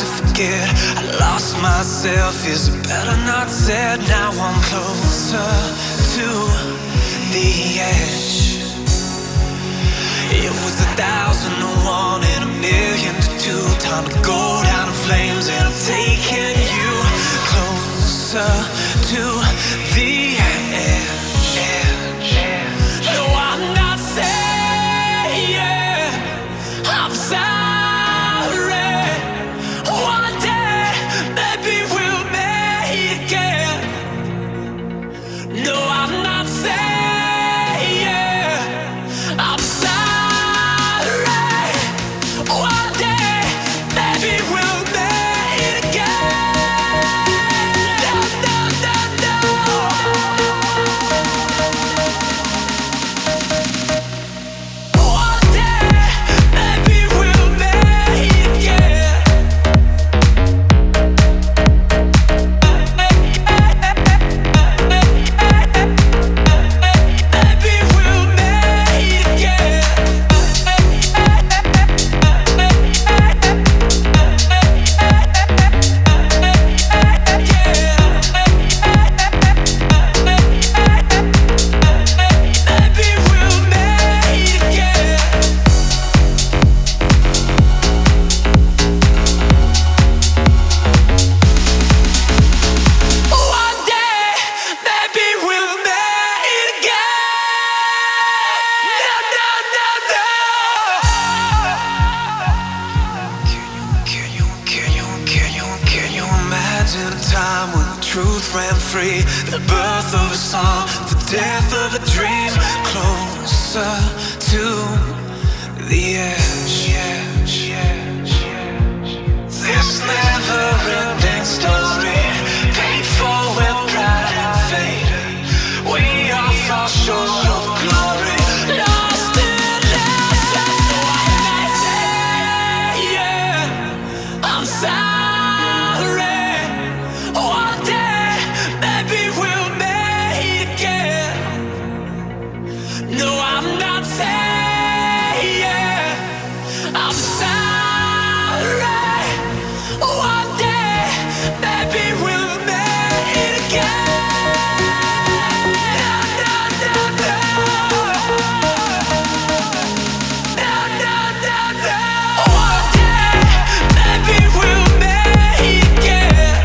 forget. I lost myself, is it better not said? Now I'm closer to the edge. It was 1,001 and 1,000,002. Time to go down in flames, and I'm taking you closer to the edge. No, I'm not saying I'm sorry. One day, maybe we'll make it. No, I'm not saying I'm sorry. One day, maybe we'll make it again. No, no, no, no. One day, maybe we'll make it again. Maybe we'll make it again. Maybe we'll make it again. One day, maybe we'll make it again. No, no, no, no. Can you imagine a time when the truth ran free? The birth of a song, the death of a dream. Closer to the edge. This never-ending story, paid for with pride and fate. We all fall short of glory, lost in lesson. I'm sorry. One day, maybe we'll make it again. No, I'm not saying I'm sorry. One day, maybe we'll make it again. No, no, no, no. No, no, no, no. One day, maybe we'll make it again.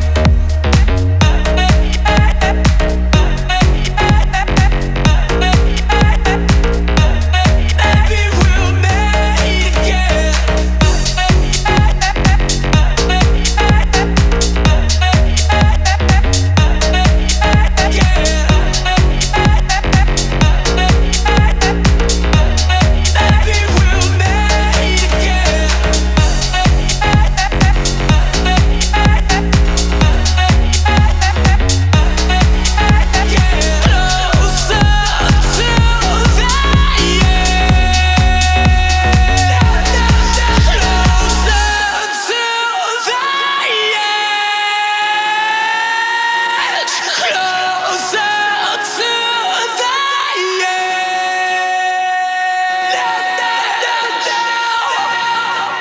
Maybe we'll make it again. Maybe we'll make it again. Closer to the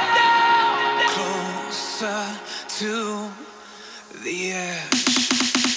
Closer to the edge.